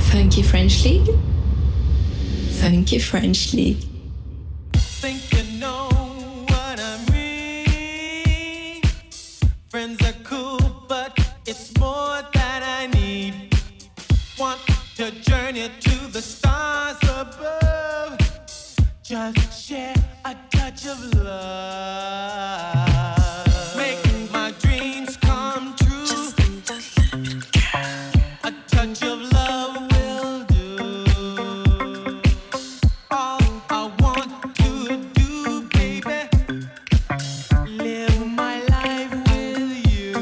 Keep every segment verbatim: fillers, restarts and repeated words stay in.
Funky French League. Funky French League. Think you know what I mean? Friends are cool, but it's more that I need. Want to journey to the stars above. Just share a touch of love. Make my dreams come true. Just a little bit, girl. A touch of love will do. All I want to do, baby, live my life with you.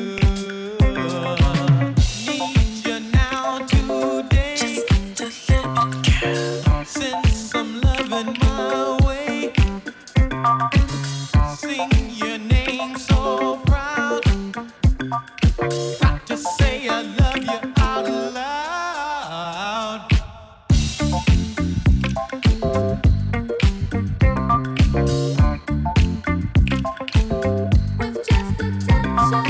Need you now today. Just a little bit, girl. Send some loving my way. Sing your name so proud. Got to say I love you out loud. With just a touch of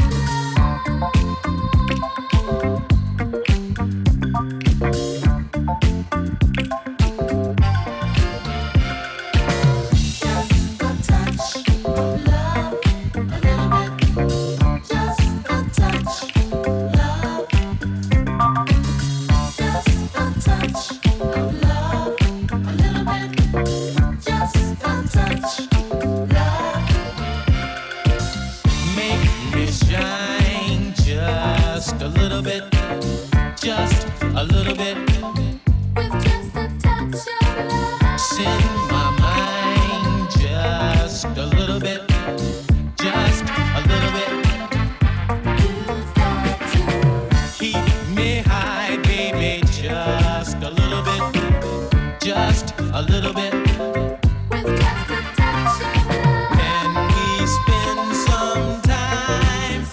a little bit, just a little bit. With just a touch of love. Send my mind just a little bit, just a little bit. You've got to keep me high, baby, just a little bit, just a little bit. With just a touch of love. Can we spend some time?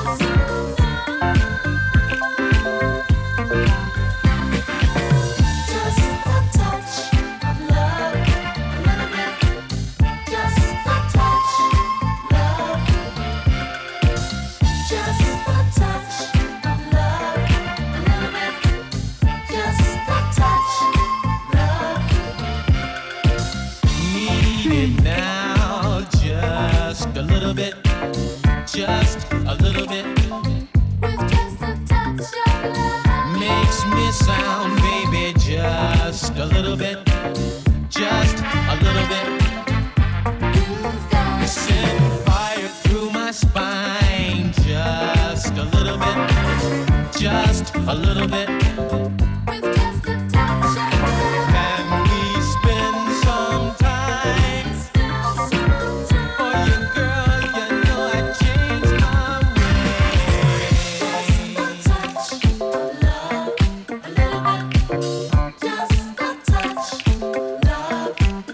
Just a little bit. With just a touch of love. Makes me sound, baby, just a little bit. Just a little bit. You've got send fire through my spine. Just a little bit. Just a little bit. With just a touch of love. Can we spend some time? For you, girl, you know I changed my ways. Just a touch of love, a little bit. Just a touch of love.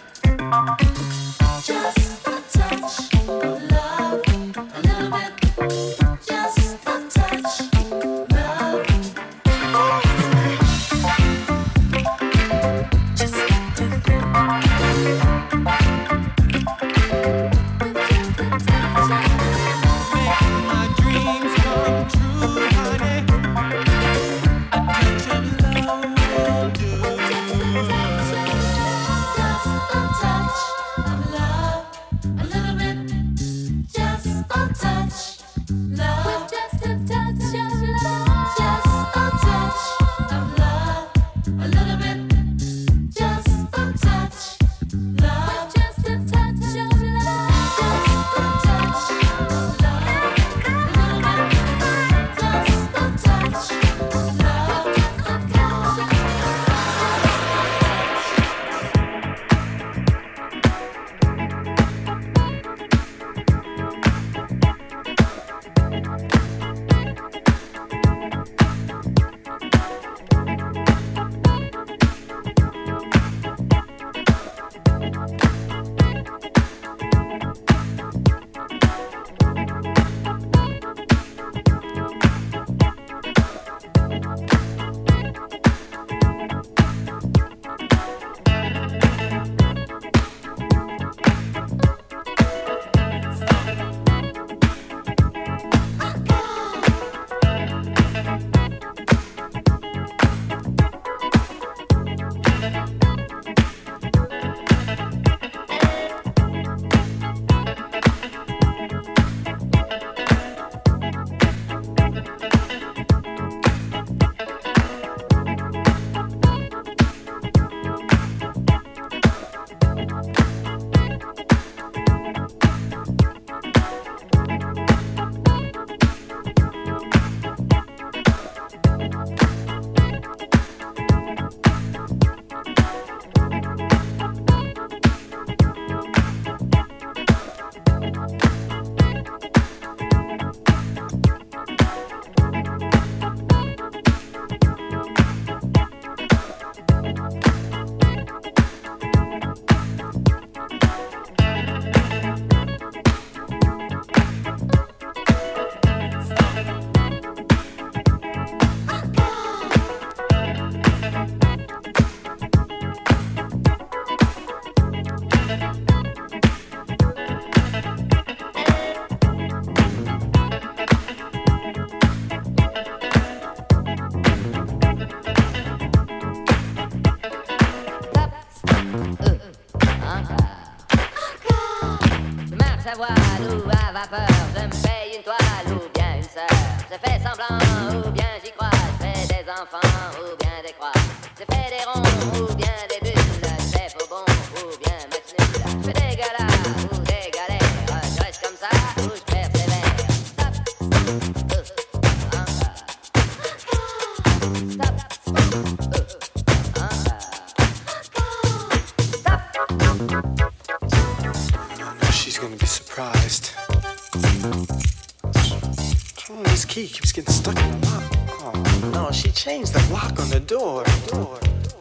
Just a touch of love, a little bit. Just a touch of love. pas peur, je me paye une toile ou bien une sœur. Je fais semblant ou bien j'y crois. Je fais des enfants ou bien des croix. Je fais des ronds ou bien des bulles. Je fais faux bon ou bien match nul. Je fais des galas ou des galères. Je reste comme ça ou je persévère. Stop, stop, uh, encore. Stop, stop, uh, encore. Stop. She's gonna be surprised. Oh, this key keeps getting stuck in the lock. Oh, no, she changed the lock on the door. door.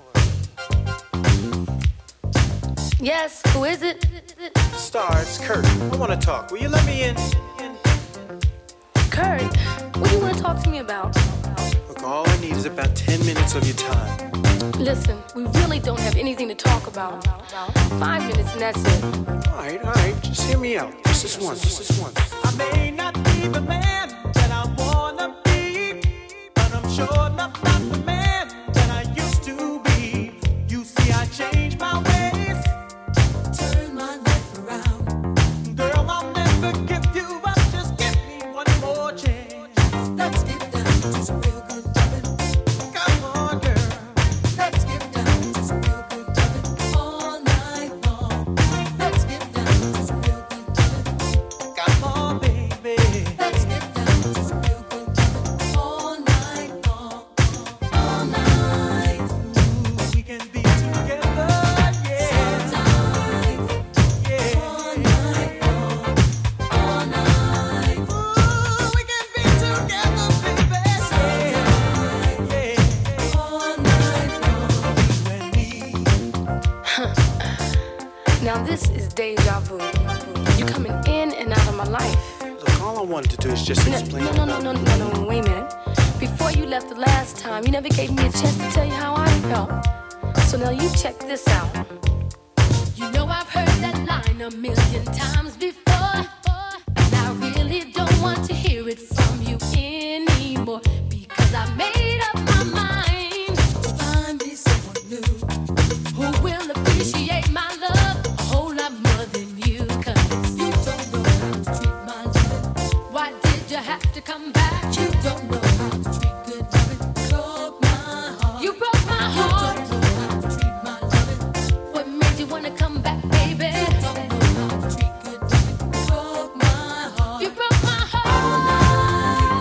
Yes, who is it? Star, it's Kurt. I want to talk. Will you let me in? in? Kurt, what do you want to talk to me about? Look, all I need is about ten minutes of your time. Listen, we really don't have anything to talk about. Five minutes and that's it. All right, all right. Just hear me out. Just this once, just this once. I may not be the man that I wanna be, but I'm sure enough not the man that I used to be. You see, I changed my ways, turn my life around. Girl, I'll never give you up. Just give me one more chance. Let's get down to some real good loving. Come on, girl. Let's get down to some real good loving all night long. Let's get down to some real good loving. Come on, baby. Let's get down to some real good loving all night long. All night. Ooh, we can be together, yeah. So tight. Yeah. All night long. All night. Ooh, we can be together, baby. So tight. Yeah. All night long. You and me. Now this is deja vu. You coming in and out of my life. Look, all I wanted to do is just No, explain. no, no, no, no, no, no, wait a minute. Before you left the last time, you never gave me a chance to tell you how I felt. So now you check this out. You know I've heard that line a million times before, and I really don't want to hear it from you anymore, because I made up my mind to find me someone new who will appreciate my love a whole lot more than you. 'Cause you don't know how to treat my loving. Why did you have to come back? You don't know how to treat good loving. Broke my heart. You broke my heart. You don't know how to treat my loving. What made you wanna come back, baby? You don't know how to treat good loving. Broke my heart. You broke my heart.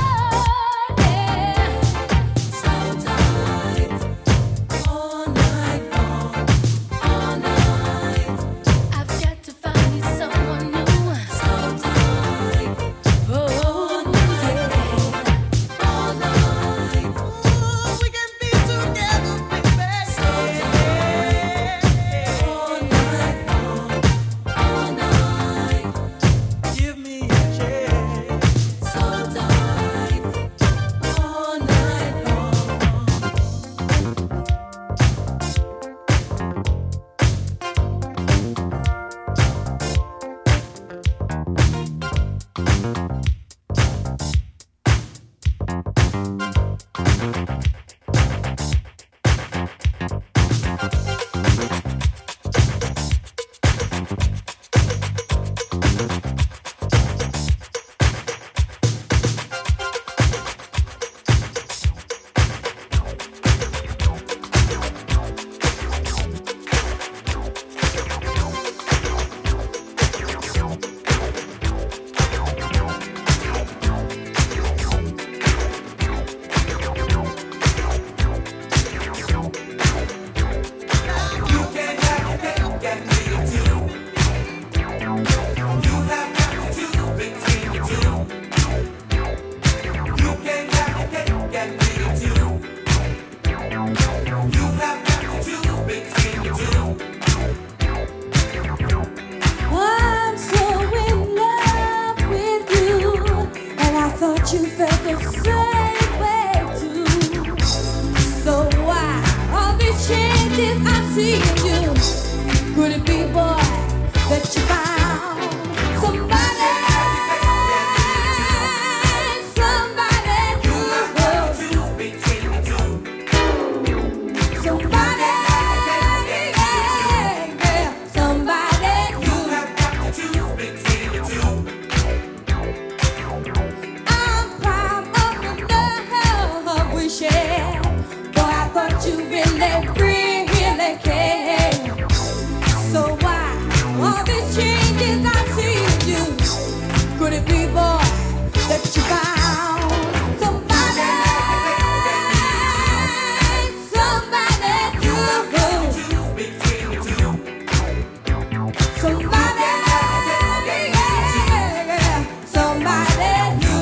Yeah. So tight. All night long. All night. I've got to find me someone new. So tight. Oh, yeah. All night. Ooh, we can be together, baby. So tight. All night long. All night. Give me a chance. So tight. All night long. I'm so in love with you, and I thought you felt the same way too. So why all these changes I'm seeing you? Could it be, boy, that you found somebody, somebody who will somebody, yeah, yeah, somebody who you really, really care. So why all these changes I see in you? Could it be, boy, that you found somebody, somebody new, somebody, yeah, somebody new.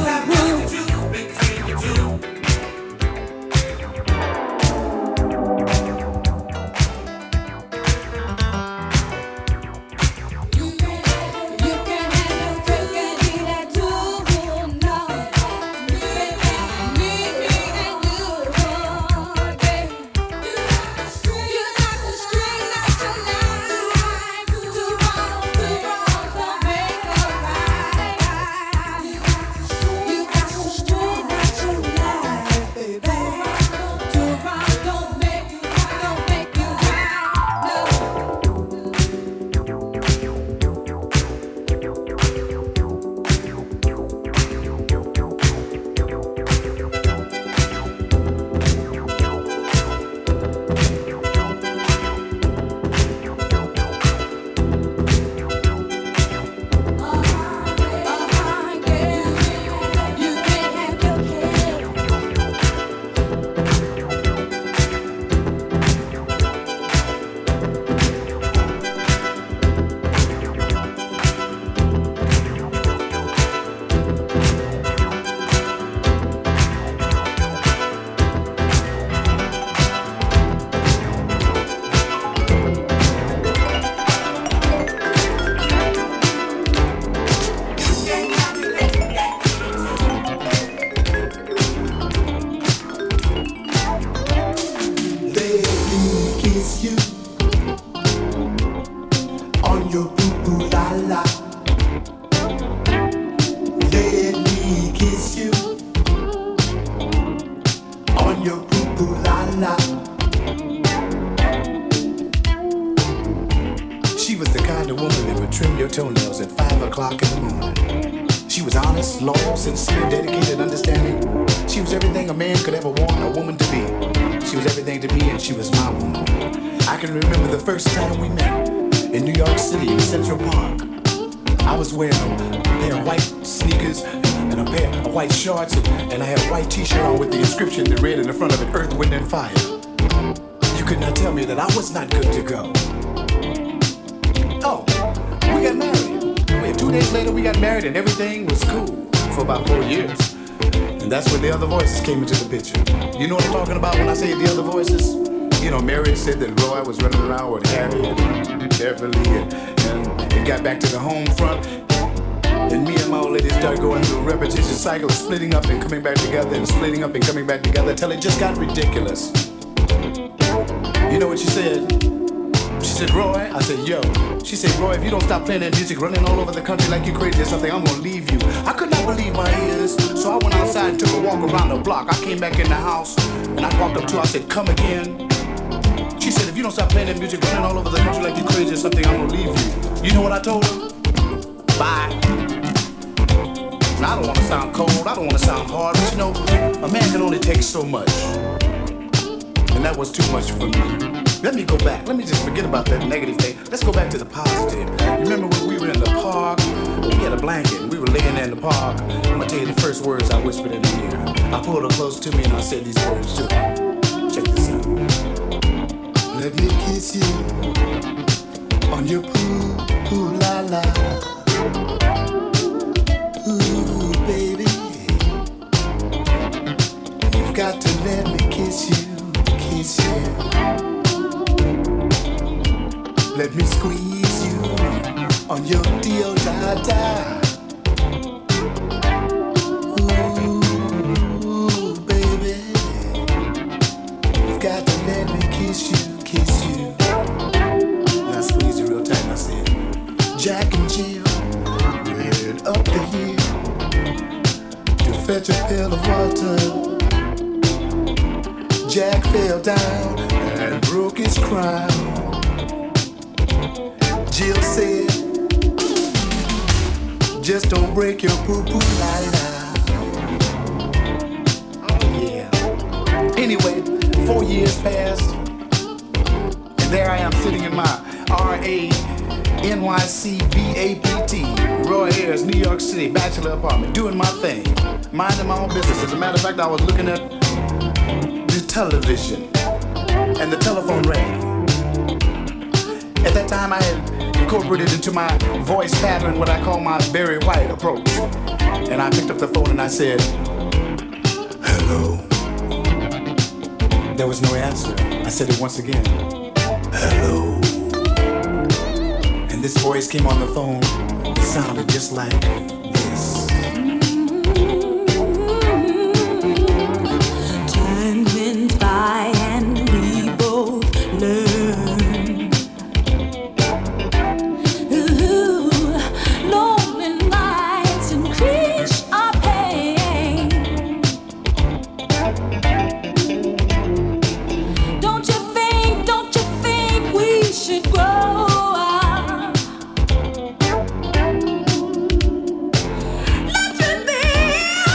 She was the kind of woman that would trim your toenails at five o'clock in the morning. She was honest, loyal, sincere, dedicated, understanding. She was everything a man could ever want a woman to be. She was everything to me, and she was my woman. I can remember the first time we met in New York City in Central Park. I was wearing a pair of white sneakers and a pair of white shorts, and, and I had a white t-shirt on with the inscription that read in the front of it, Earth, Wind, and Fire. You could not tell me that I was not good to go. Oh, we got married. Wait, two days later we got married and everything was cool for about four years. And that's when the other voices came into the picture. You know what I'm talking about when I say the other voices? You know, Mary said that Roy was running around with Harry and Beverly, and, and it got back to the home front. And me and my old lady started going through a repetitious cycle of splitting up and coming back together and splitting up and coming back together till it just got ridiculous. You know what she said? She said, Roy, I said, yo. She said, Roy, if you don't stop playing that music, running all over the country like you crazy or something, I'm gonna leave you. I could not believe my ears, so I went outside and took a walk around the block. I came back in the house, and I walked up to her, I said, come again. She said, if you don't stop playing that music, running all over the country like you crazy or something, I'm gonna leave you. You know what I told her? Bye. Now, I don't wanna sound cold, I don't wanna sound hard, but you know, a man can only take so much. And that was too much for me. Let me go back. Let me just forget about that negative thing. Let's go back to the positive. You remember when we were in the park? We had a blanket and we were laying there in the park. I'm gonna tell you the first words I whispered in her ear. I pulled her close to me and I said these words to her. Check this out. Let me kiss you on your poo, ooh la la. Ooh, baby. You've got to let me kiss you, kiss you. Let me squeeze you on your deal da da. Ooh, baby, you've got to let me kiss you, kiss you. Now squeeze you real tight. I said, Jack and Jill ran up the hill to fetch a pail of water. Jack fell down and broke his crown. Jill said, just don't break your poo-poo, la-la. Oh, yeah. Anyway, Four years passed, and there I am sitting in my R A N Y C B A P T, Roy Ayers, New York City, bachelor apartment, doing my thing, minding my own business. As a matter of fact, I was looking at the television, and the telephone rang. At that time, I had incorporated into my voice pattern what I call my Barry White approach. And I picked up the phone and I said, hello. There was no answer. I said it once again, hello. And this voice came on the phone. It sounded just like this. Time went by and we both learned. Ooh, lonely nights increase our pain. Don't you think, don't you think we should grow up? Let's reveal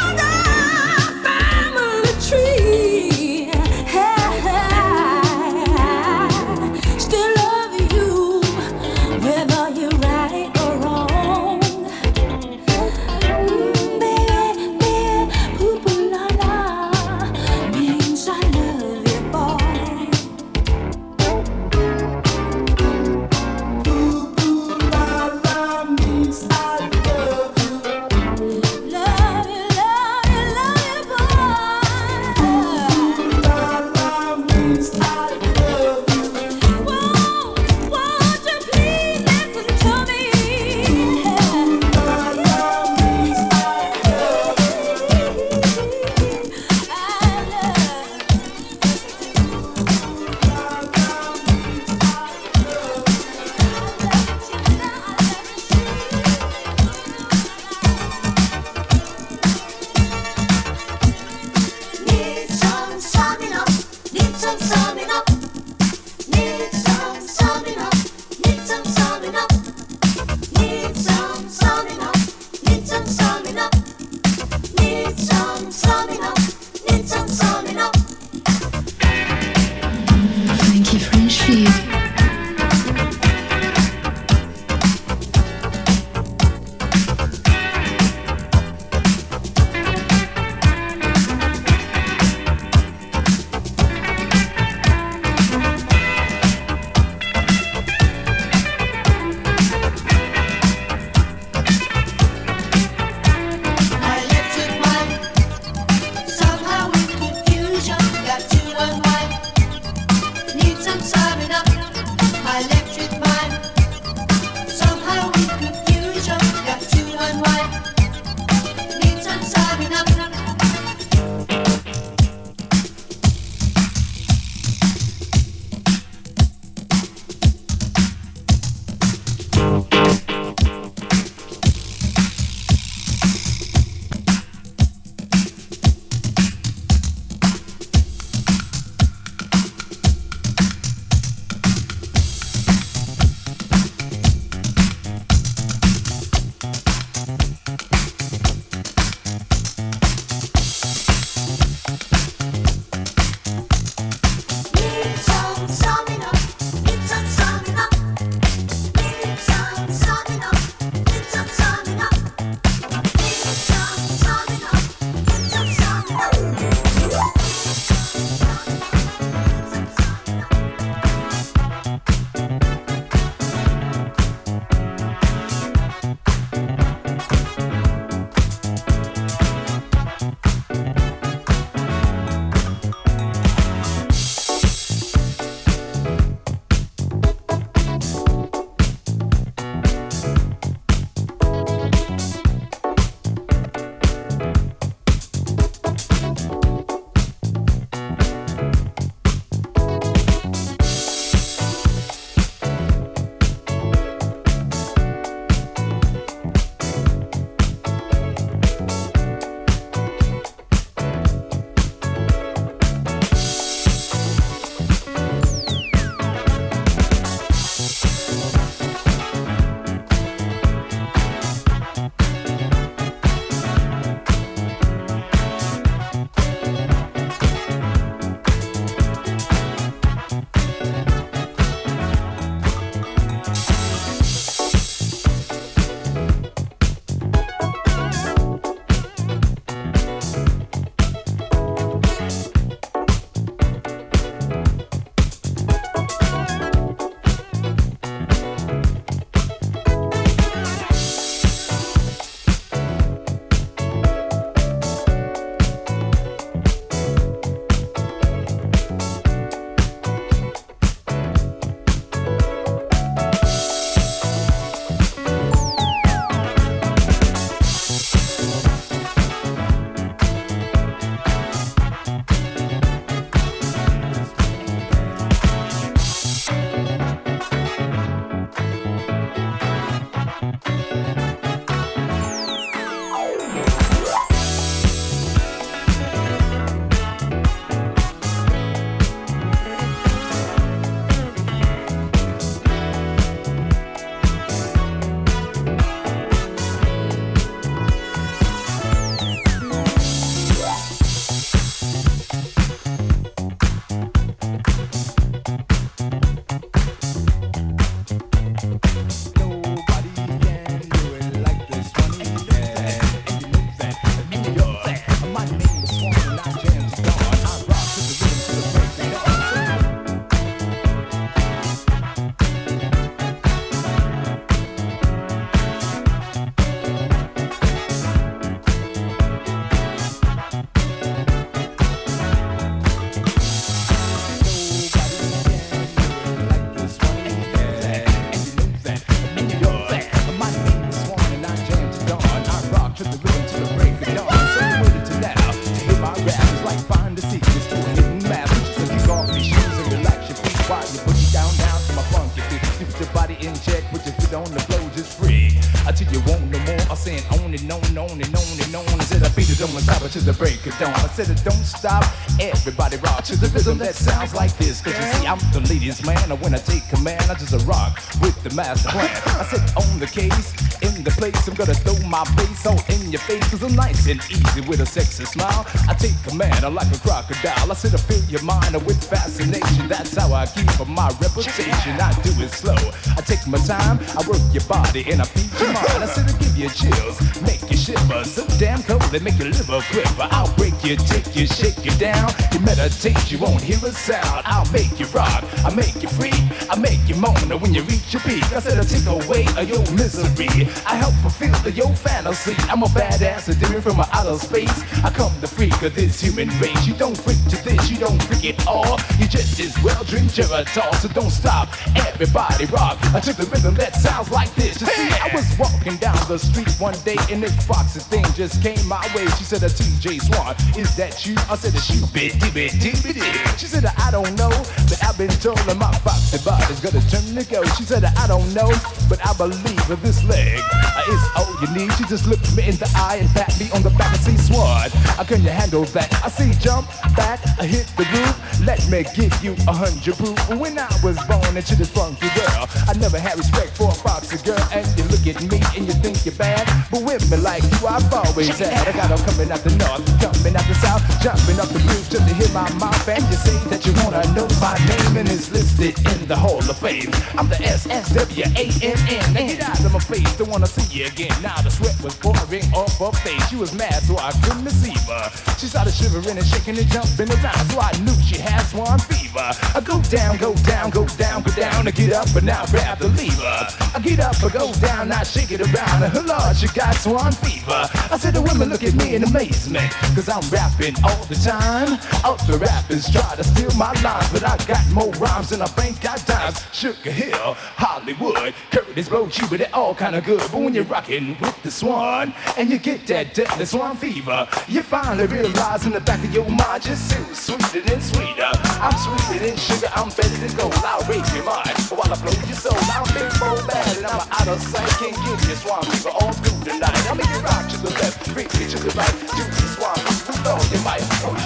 and on and on and on and on. I said I beat it, don't stop it till the break of dawn. I said it don't stop, everybody rock to the rhythm that sounds like this. Cause you see I'm the ladies man, and when I take command I just a rock with the master plan. I said on the case, in the place, I'm gonna throw my bass all in your face. Cause I'm nice and easy with a sexy smile. I take command I like a crocodile. I said I fill your mind with fascination. That's how I keep my reputation. I do it slow, I take my time, I work your body and I feed your mind. I said I give you chills, make you shiver, so damn cold they make your liver quiver. I'll break you, take you, shake you down. You meditate, you won't hear a sound. I'll make you rock, I make you free, I make you moan when you reach your peak. I said I take away your misery, I help fulfill your fantasy. I'm a badass, different from outer space. I come the freak of this human race. You don't freak to this, you don't freak at all. You just as well drink Geritol, so don't stop, everybody rock. I took the rhythm that sounds like this. You see, I was walking down the street one day and this foxy thing just came my way. She said, a T J Swan, is that you? I said, a shoe bit, dibby, dibby, dibby. She said, I don't know, but I've been told that my foxy body's gonna turn to go. She said, I don't know, but I believe that this leg uh, is all you need. She just looked me in the eye and pat me on the back and say, Swan, how can you handle that? I say, jump back, I hit the roof. Let me give you a hundred proof. When I was born into the funky girl, I never had respect for a foxy girl. And you look at me and you think you're bad, but with me like you I've always had. I got them coming out the north, coming out the south, jumping up the roof till they hit my mouth. And you say that you wanna know my name, and it's listed in the Hall of Fame. I'm the S S W A N N. Now get out of my face, don't wanna see you again. Now the sweat was pouring off her face. She was mad so I couldn't receive her. She started shivering and shaking and jumping around, so I knew she had swan fever. I go down, go down, go down, go down, I get up and now grab the lever. I get up, I go down, I shake it around, and her Lord, she got swan fever. I said the women look at me in amazement, cause I'm rapping all the time. Other rappers try to steal my lines, but I got more rhymes than I bank got dimes. Sugar Hill, Hollywood, Curtis Blow, Cuba, they're all kinda good. But when you're rocking with the Swan, and you get that deadly swan fever, you finally realize in the back of your mind, just so sweeter than sweeter. I'm sweeter than sugar, I'm better than gold. I'll rape your mind while I blow your soul. I'm big, bold, bad, and I'm out of sight. Can't give you swan fever all through the night. I'll make you rock to the left, freak me to the right. Do the swan fever, throw your mic.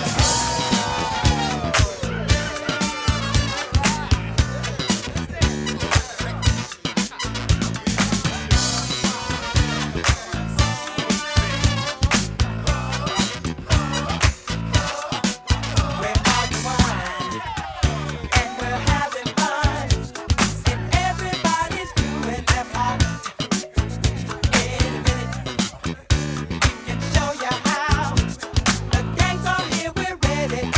Show you how the gangs are here. We're ready.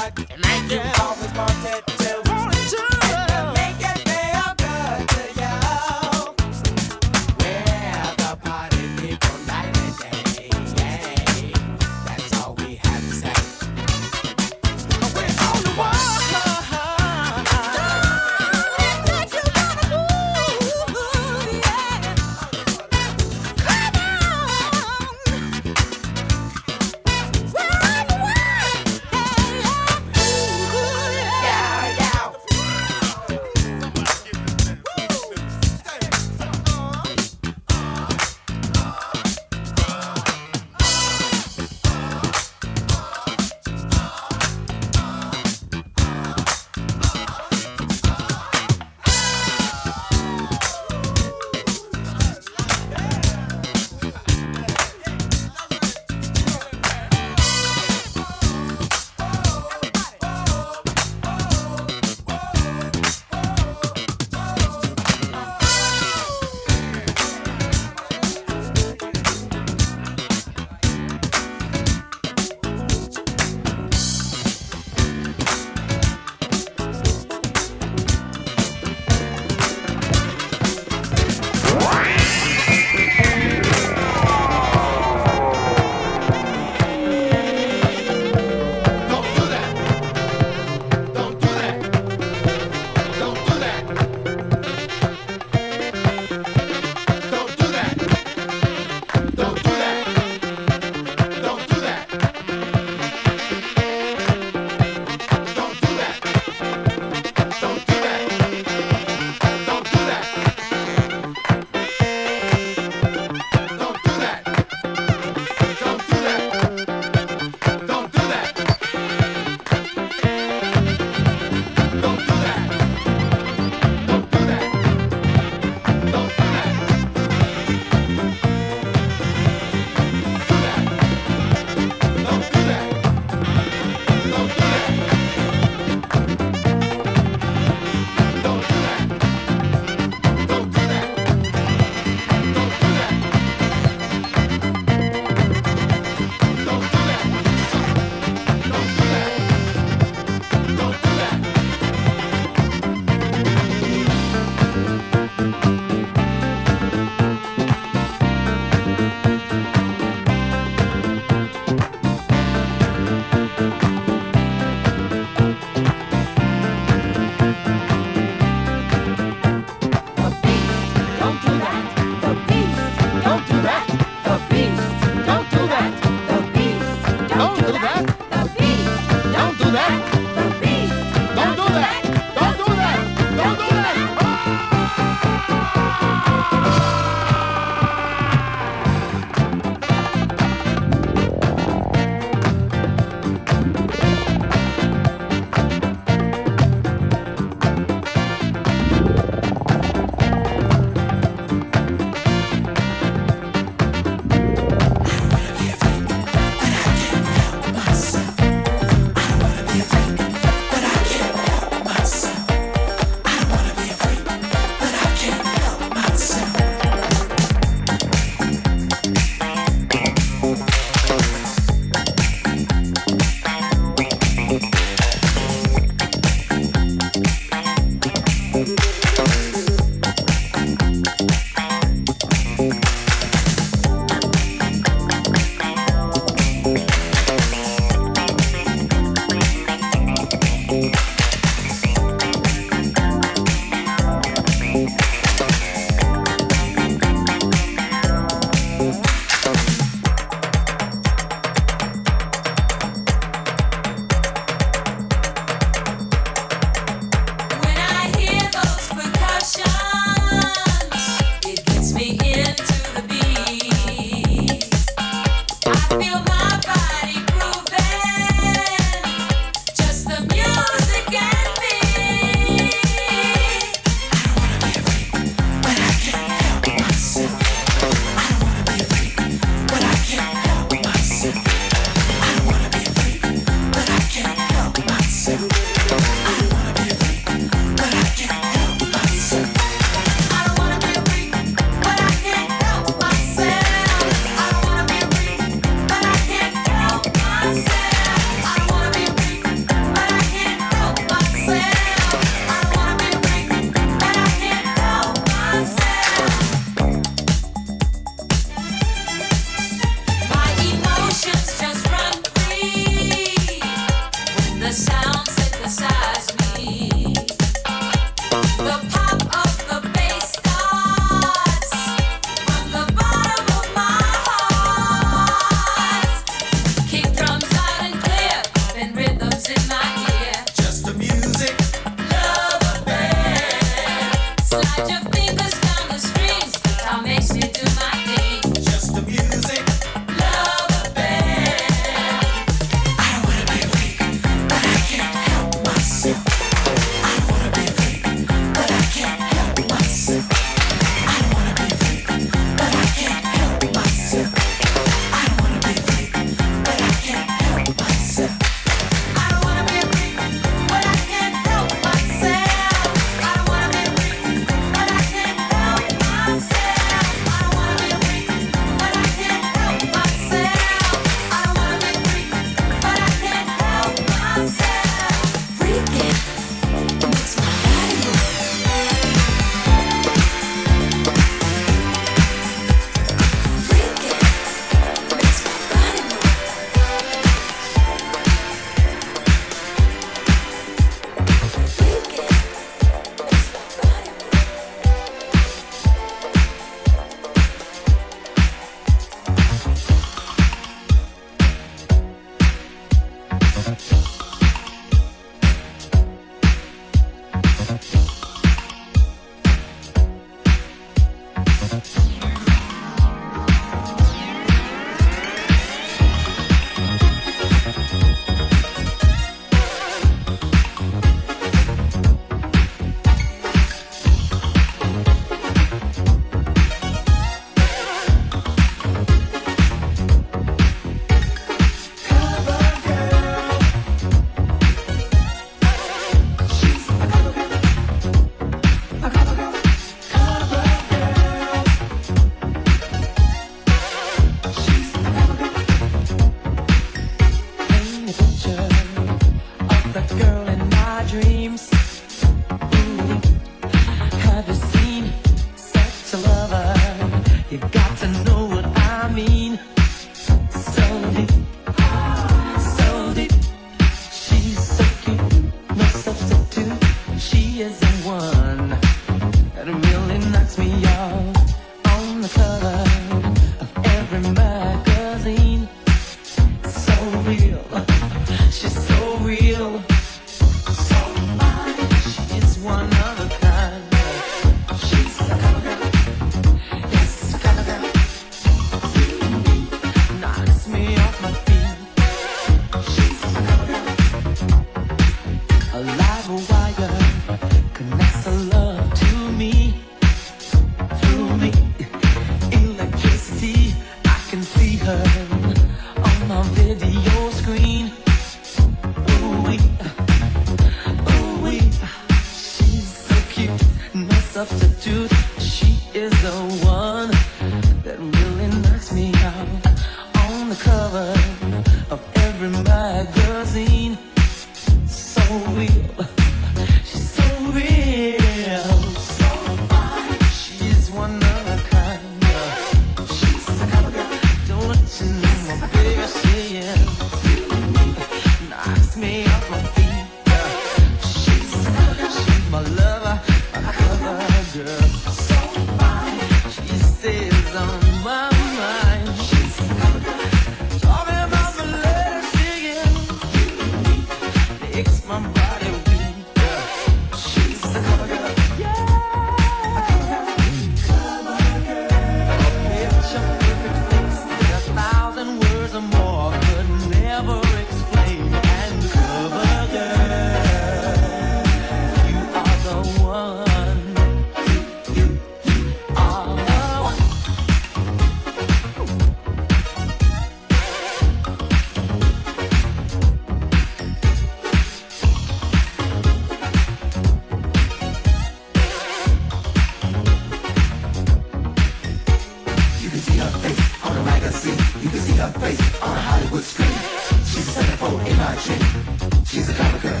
You can see her face on a Hollywood screen. She's a centerfold in my dream. She's a clever girl.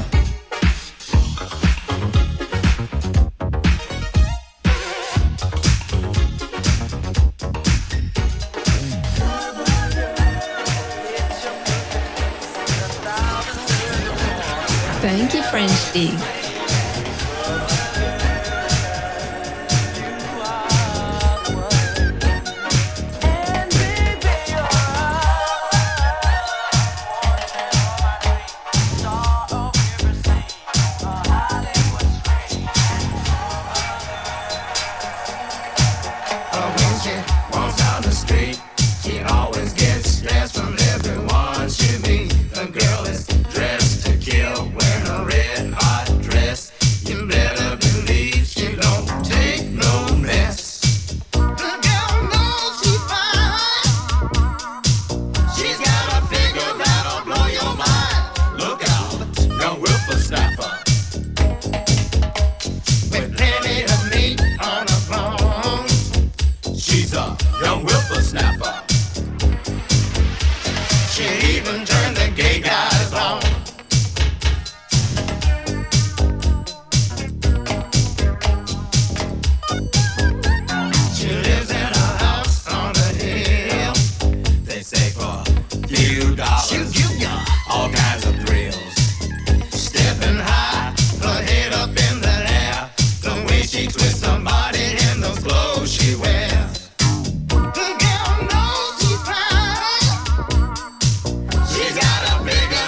Funky French Dig. She's got a bigger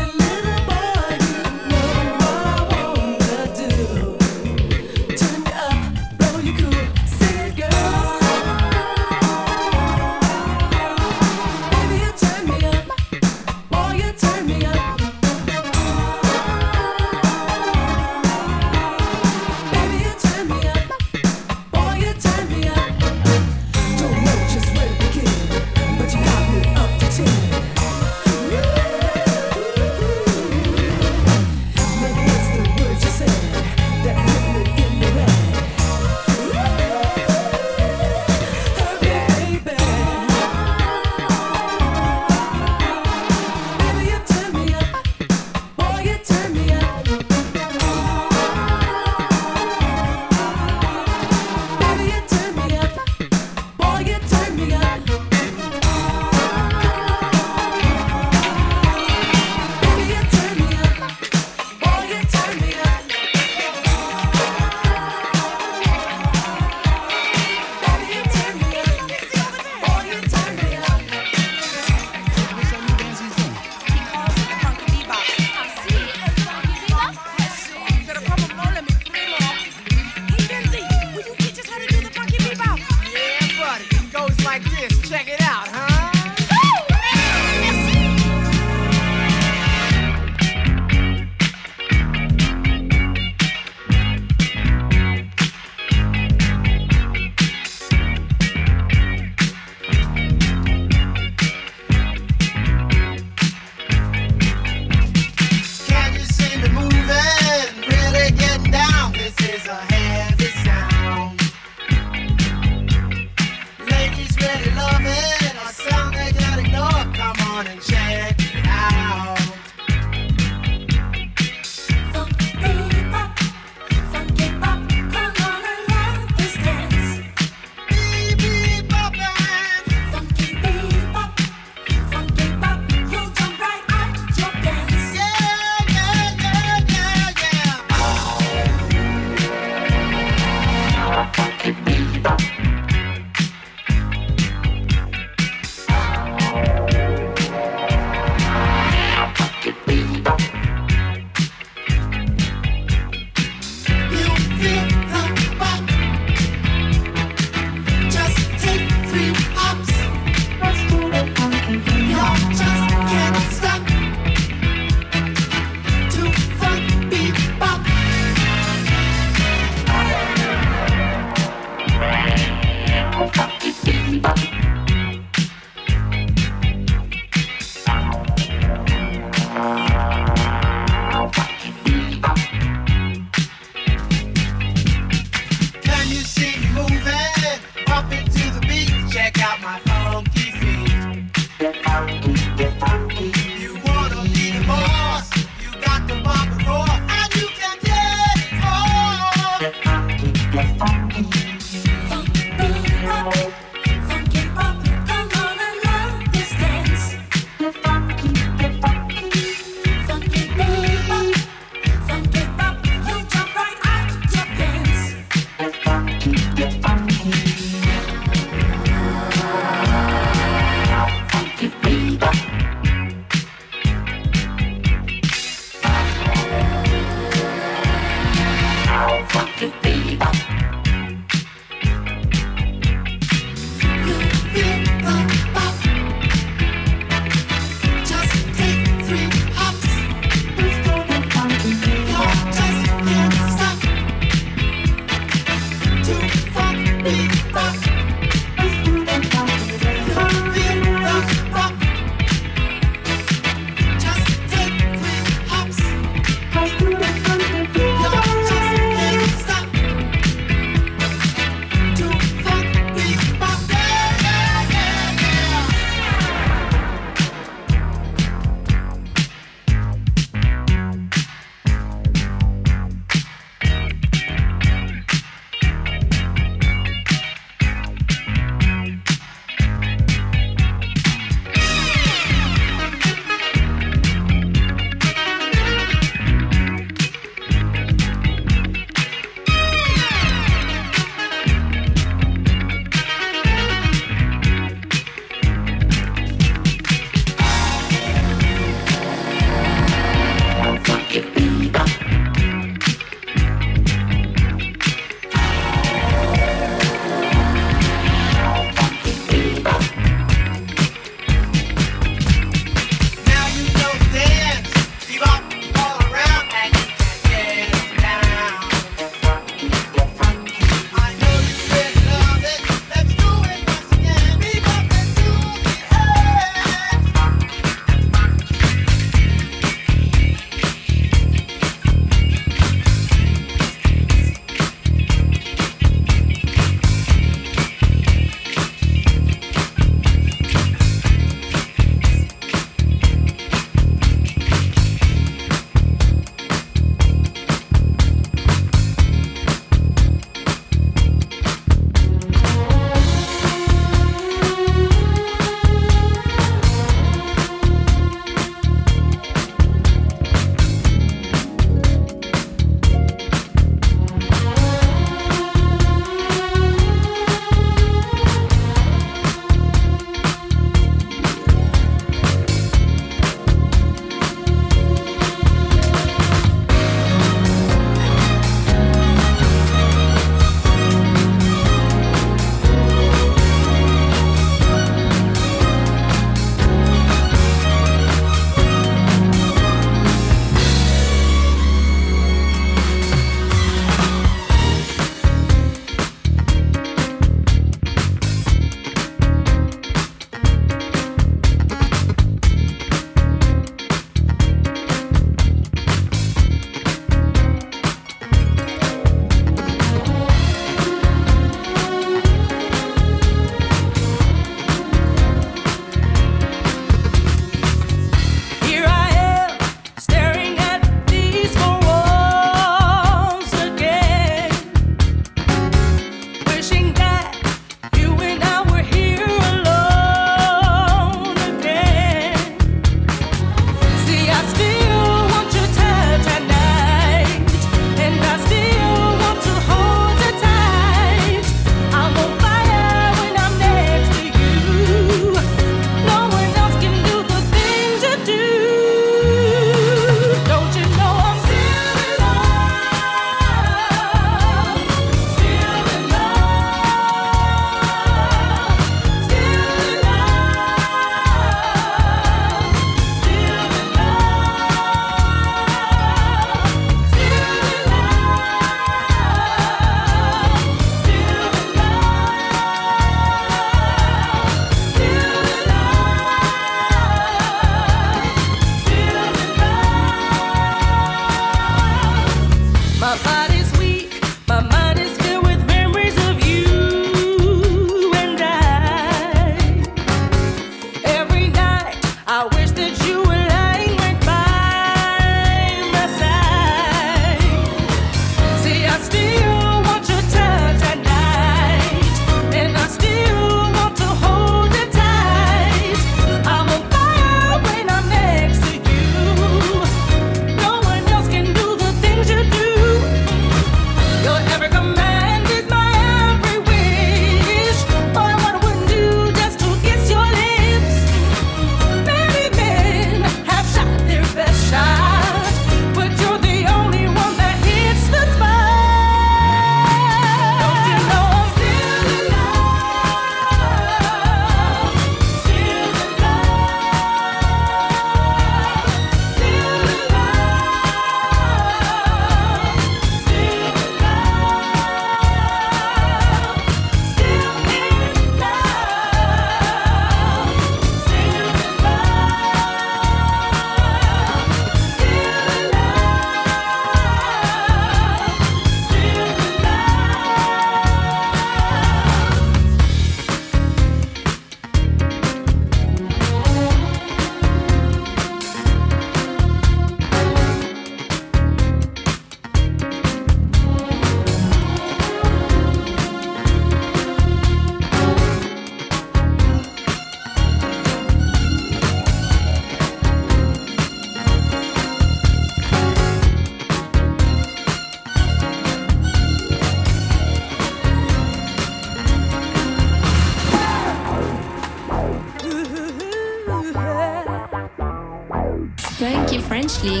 Frenchly.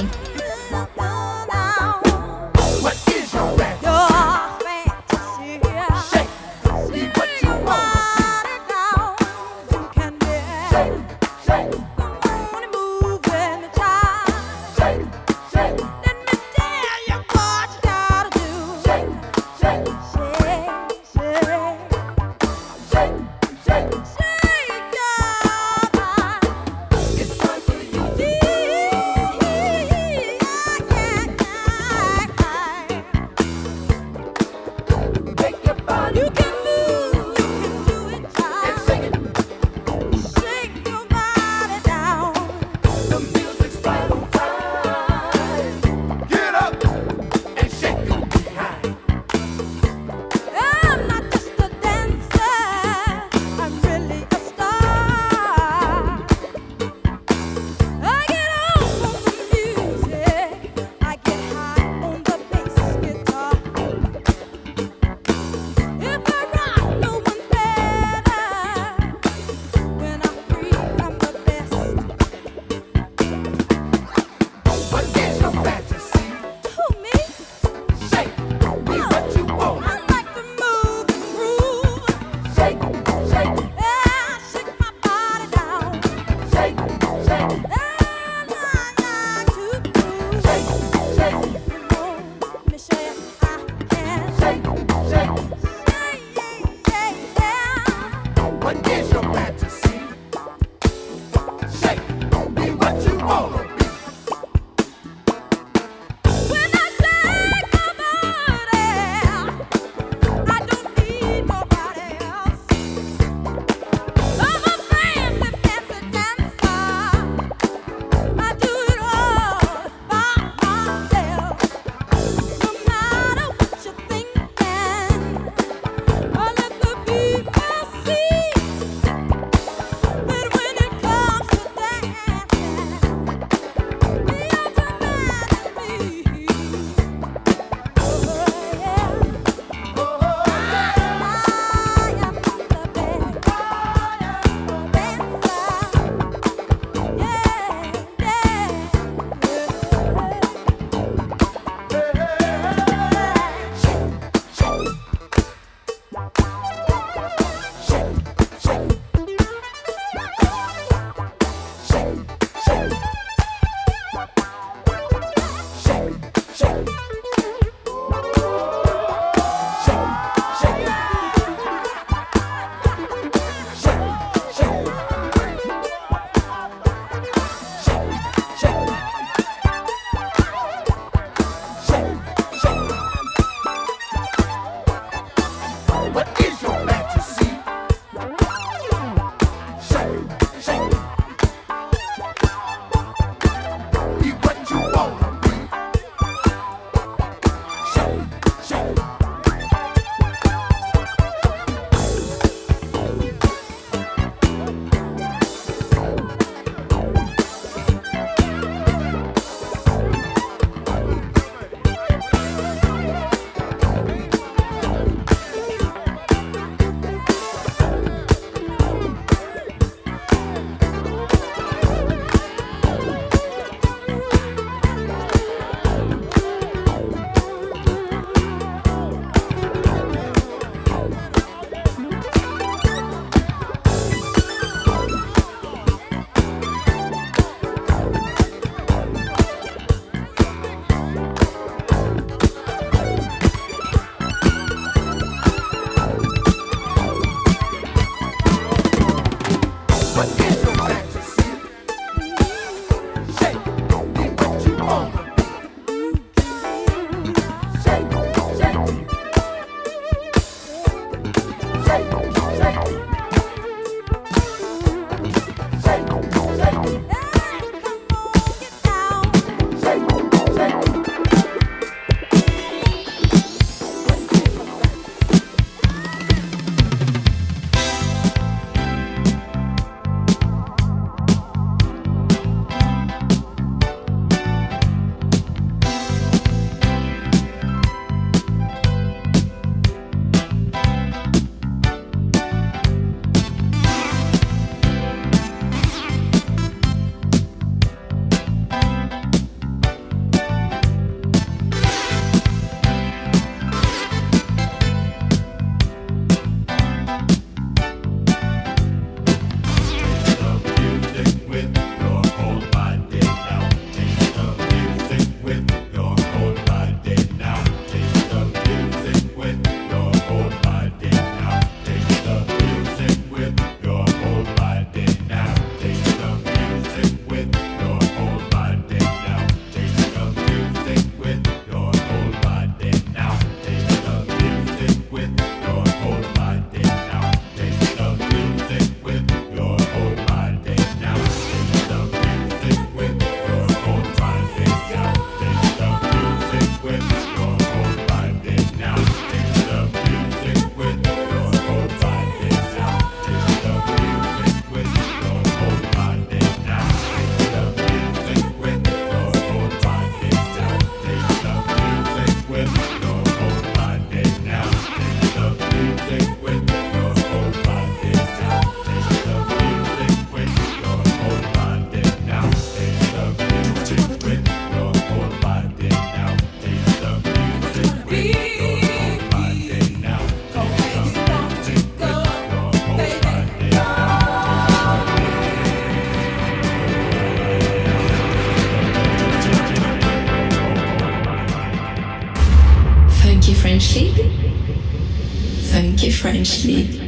What is your answer? Your fantasy. Shake, see what you want. Shake, shake, shake, shake. Let me tell you what you gotta do. Shake, shake, shake, shake, shake, shake, shake your body. It's time for you. French League.